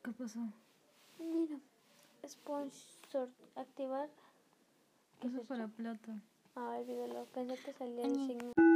¿Qué pasó? Mira, sponsor, activar. Eso es para plata. Ay, olvídalo, pensé que salía el signo.